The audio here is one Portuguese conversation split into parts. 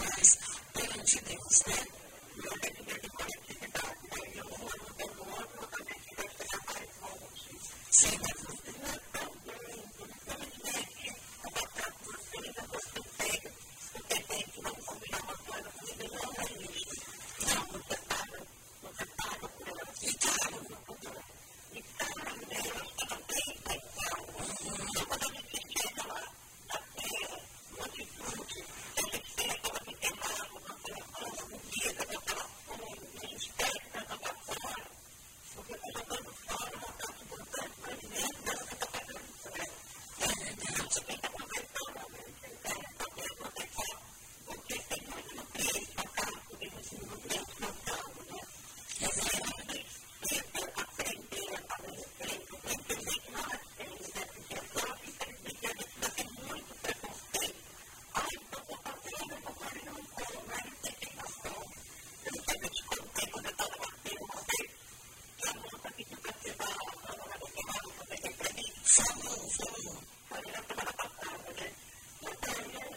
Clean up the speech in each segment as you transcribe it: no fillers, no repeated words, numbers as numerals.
mais perante Deus, né? E eu tenho que coletividade, né? E um ajudando o outro, também que vai ser mais longe. Sem dúvida, também, infelizmente, o papel de vocês é você pega, porque tem que não combinar uma coisa com ele, não é isso. Não, você paga por ela. E claro, e claro, Deus também vai estar. Então, quando a gente chega lá, na terra, no atitude, a gente tem aquela pequena um dia daquela fome, a gente pega para jogar fora, porque está jogando fora uma parte importante para dentro dessa capacidade, né? A gente tem que aproveitar o momento, então, também aproveitar, porque tem muito nutriente na casa, tem muito nutriente no campo, né? Aprender a entender que não é feio, né? Porque só que infelizmente a gente ainda tem muito preconceito. Ai, então vou fazer, eu vou fazer, eu não como, né? Não tem noção. Eu não sei, eu te contei quando eu estava batendo uma vez, que a moça que fica ativada, ela vai tomar uma coisa para mim. Falou. Foi na semana passada, né? Então,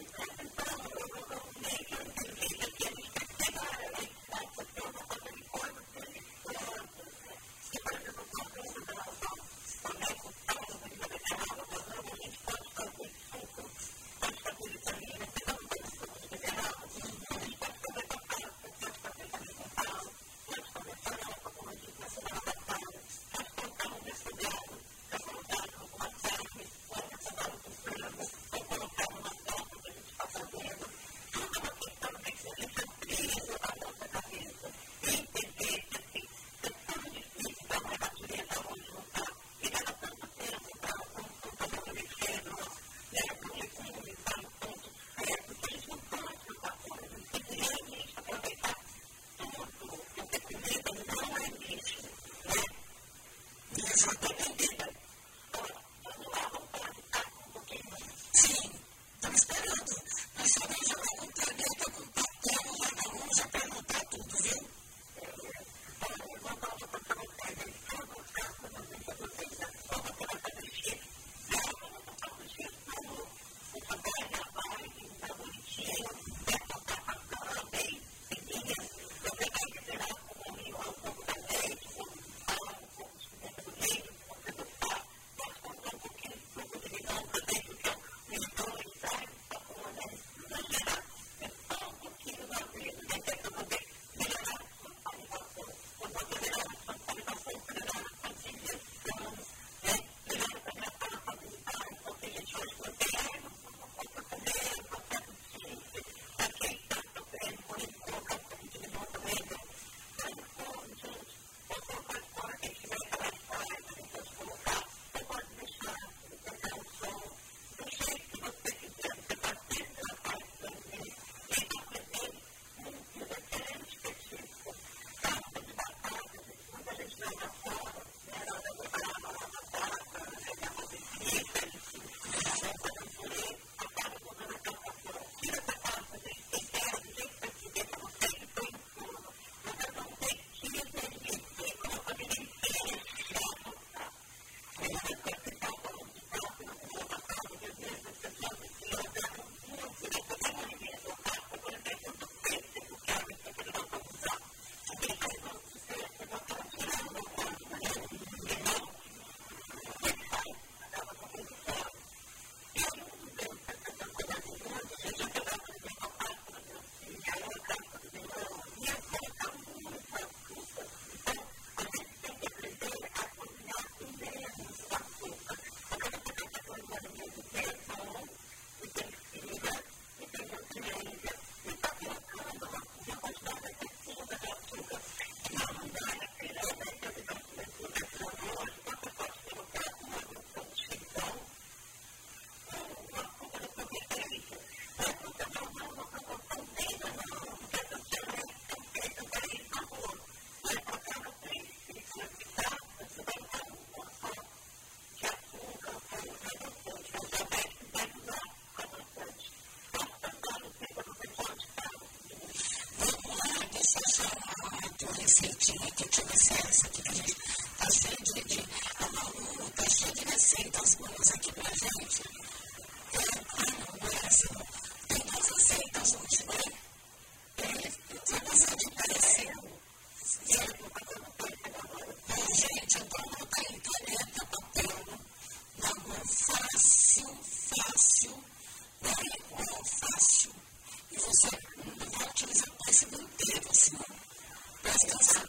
eu nem que eu entendi que a gente tem que pegar ela em casa, porque eu vou fazer de coisa, porque a gente planta, se por exemplo, uma coisa da nossa conexão, de vegetal, a gente pode fazer suco, pode fazer vitamina, você não tem suco de vegetal, a gente pode fazer batata, pode fazer farinha com pau, pode fazer farofa, como eu disse na semana passada, pode colocar um desfogado, pode colocar alguma carne, pode colocar um frango, pode colocar uma sopa que a gente está fazendo. Tudo é uma questão de que a gente amplia a nossa cabeça e entender que assim, é tão difícil para uma natureza hoje lutar e leva tanto tempo para um comportamento generoso, né? Porque como está no ponto certo, que eles não podem lutar fora, eles têm que realmente aproveitar tudo, porque comida não é lixo, né? Exatamente. Vamos lá, vamos para um pouquinho. Sim, estamos esperando. Nós só vamos jogar com caneta, com papel, já para anotar tudo, viu? Vamos voltar para o papel, então, vou ficar com vocês, vamos colocar no jeito. Vamos botar no jeito, o papel já vai, tá bonitinho, vai botar para cá, bem, pequenininha. Eu pegar e tirar um pouco da leite, um pouco de sal, um pouco de pimenta do reino, um pouco de sal, pode colocar um pouquinho de suco de limão também, porque o limão ele sai, tá bom, né? Exagerar, é só um pouquinho da vida, né? Que é para poder melhorar a sua salivação, para poder melhorar a sua salivação, melhorar a sua digestão, né? Melhorar também a forma alimentar, então tem gente hoje que não tem água, não pode comer, não pode assistir, para quem está sofrendo, pode colocar um pouquinho de limão também, então, não pode, gente, pode colocar fora, quem tiver aquela fora, também pode colocar, ou pode deixar, pegar o sol, do jeito que você quiser, você está sempre na parte também, e não pretende muito diferente, específico, calda de batata, quando a gente joga fora, né, na hora de preparar uma batata, jogar uma bebida, fazer um purê, acaba botando aquela fora, tira essa pasta, gente, tempera do jeito que você quiser, para você que põe no forno, você não tem que entender, você coloca bem inteiro, joga, tá? Aí você pode ficar um pouco de prato, não precisa passar, porque às vezes as pessoas se ordenam muito, né, para dar uma alimentação, por exemplo, do peito, do carne, para poder dar para usar. Também faz muito sucesso, você botar tirando do corpo, né? Limão, você faz, acaba com muito fora. E aí, não tem essa coisa de muito, a gente já pegava, por exemplo, a pasta da grossinha, aí a casca do limão, ia colocar muita açúcar. Então, a gente tem que aprender a cozinhar com menos açúcar. Agora, você tem que fazer um alimento que é bom, e tem fibra, e tem nutrientes, e está colocando uma quantidade excessiva de açúcar. Não vale a pena, né? Que a vida de açúcar hoje, você pode colocar uma grupo de chifão, uma açúcar da sua preferência. O açúcar não é uma proporção dele, não, porque essas geralmente são feitas para esse sabor. Mas para cada três xícaras de prata, você vai usar uma só de açúcar, ou adoçante. Mas também deve usar adoçante. Posso passar no tempo para você pode estar. Vamos lá, deixa eu chamar a tua receitinha que eu tive acesso aqui, que a gente está cheio de a Malu está cheio de receitas boas aqui pra gente. Não é assim, tem 2 receitas hoje, né? você não vai utilizar o pêssego inteiro, assim, para descansar.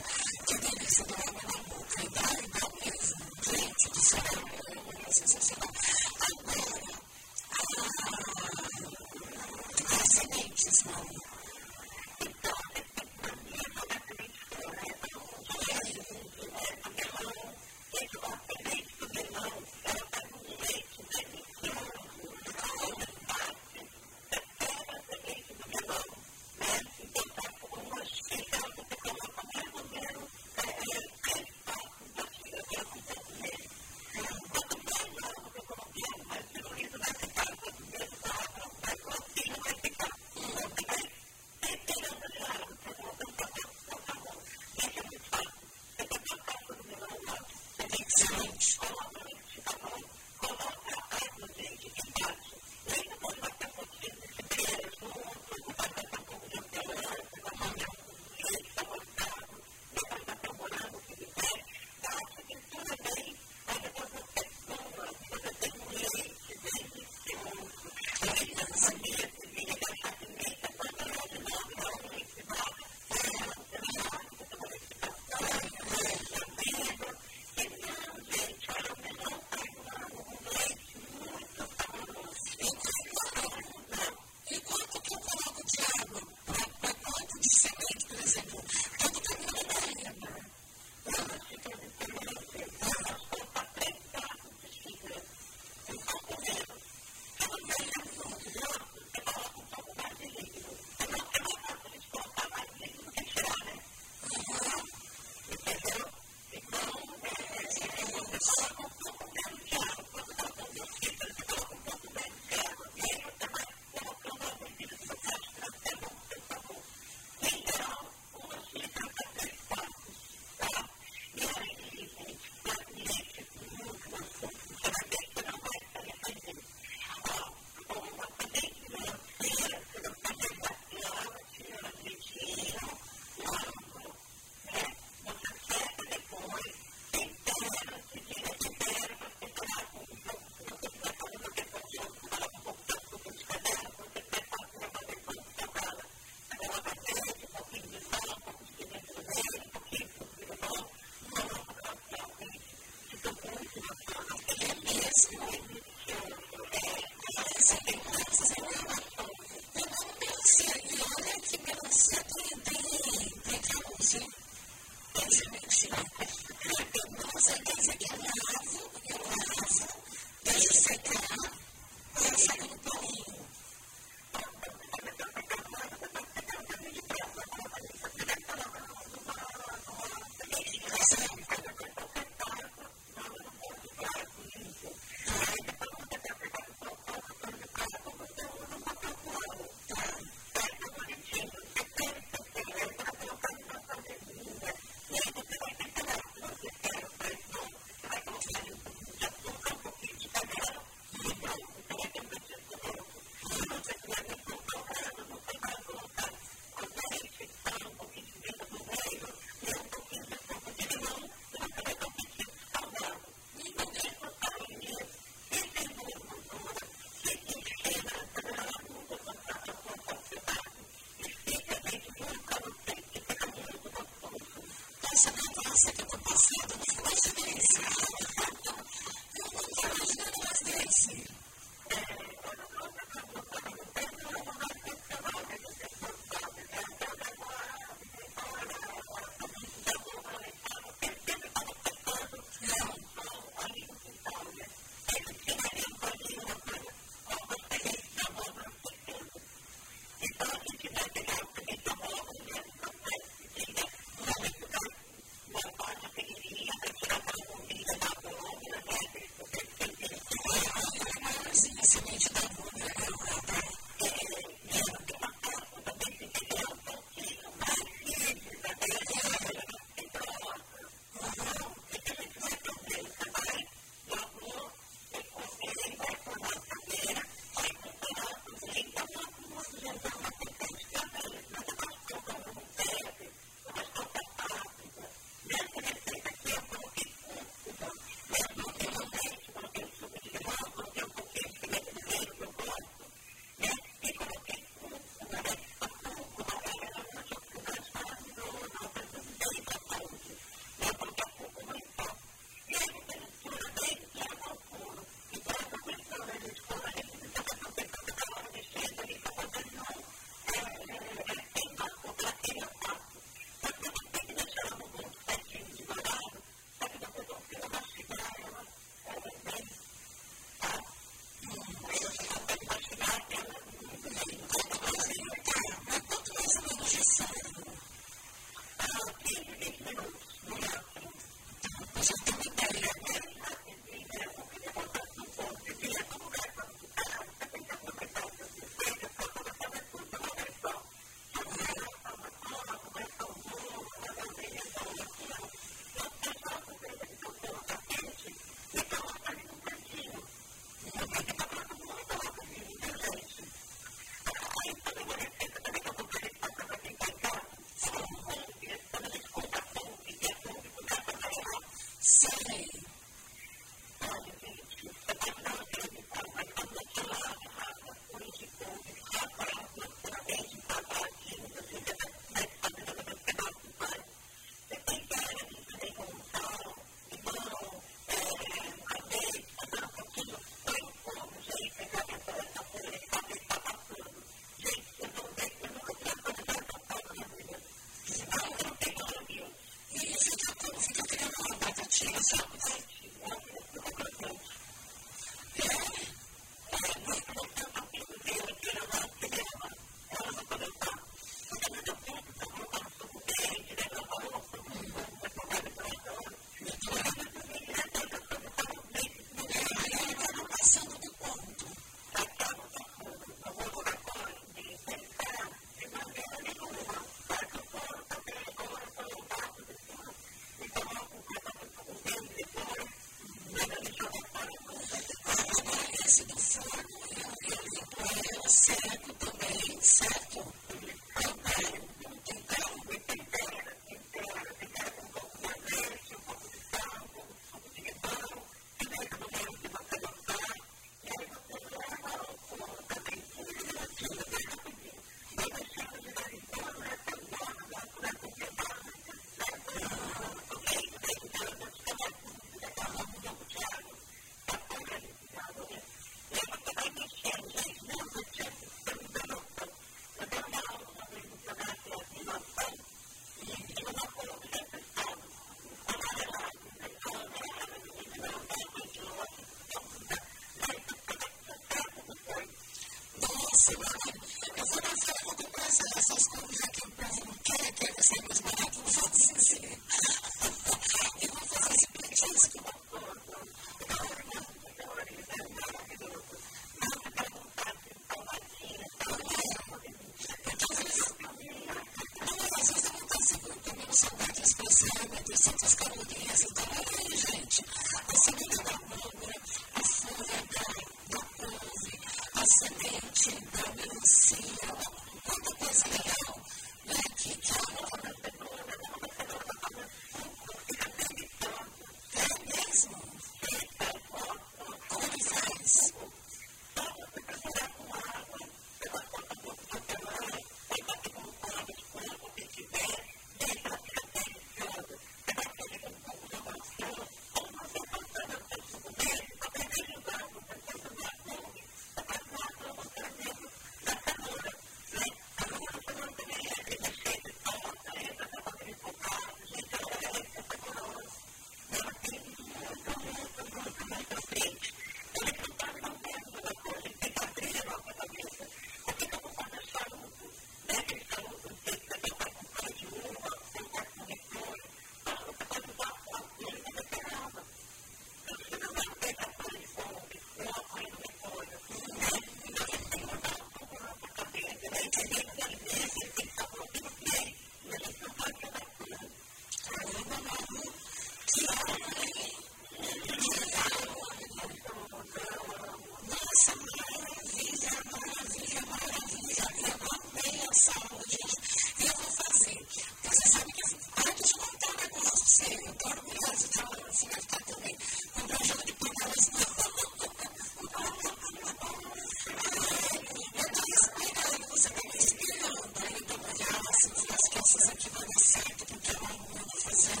nossas aqui vai dar certo, porque ela não vai fazer.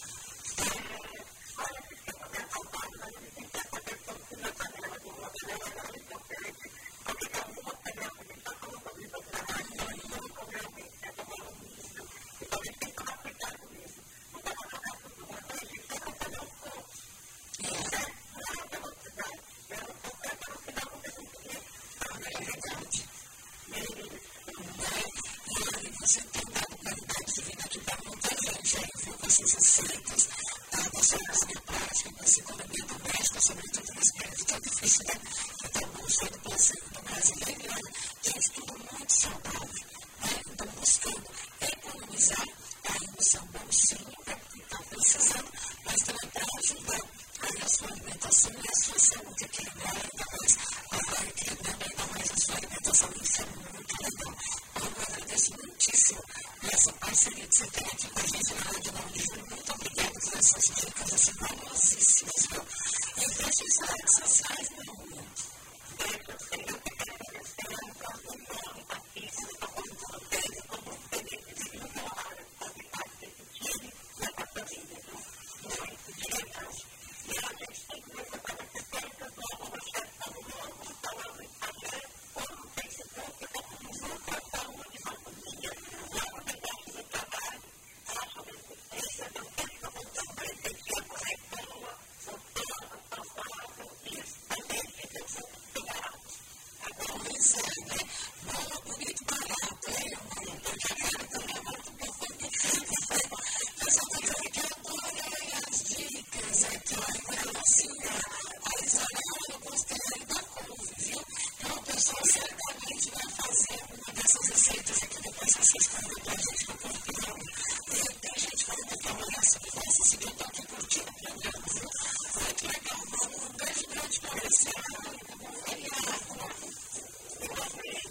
Você tem dado qualidade de vida aqui para muita gente, aí, viu? Com esses receitas, você usa de prática, com essa economia doméstica, sobretudo nesse período tão difícil, né? Que está buscando o placebo do brasileiro, né? Gente, tudo muito saudável, né? Então, buscando economizar aí no seu bolsinho, para quem está precisando, mas também para ajudar aí a sua alimentação e a sua saúde, equilibrar ainda mais, equilibrando ainda mais a sua alimentação. Isso é muito legal. Eu agradeço muitíssimo essa parceria que você tem aqui com a gente na Rádio Naulismo. Muito obrigada por essas dicas, assim, valiosíssimas, viu? E deixe as redes sociais, meu amor. Um beijo grande para você.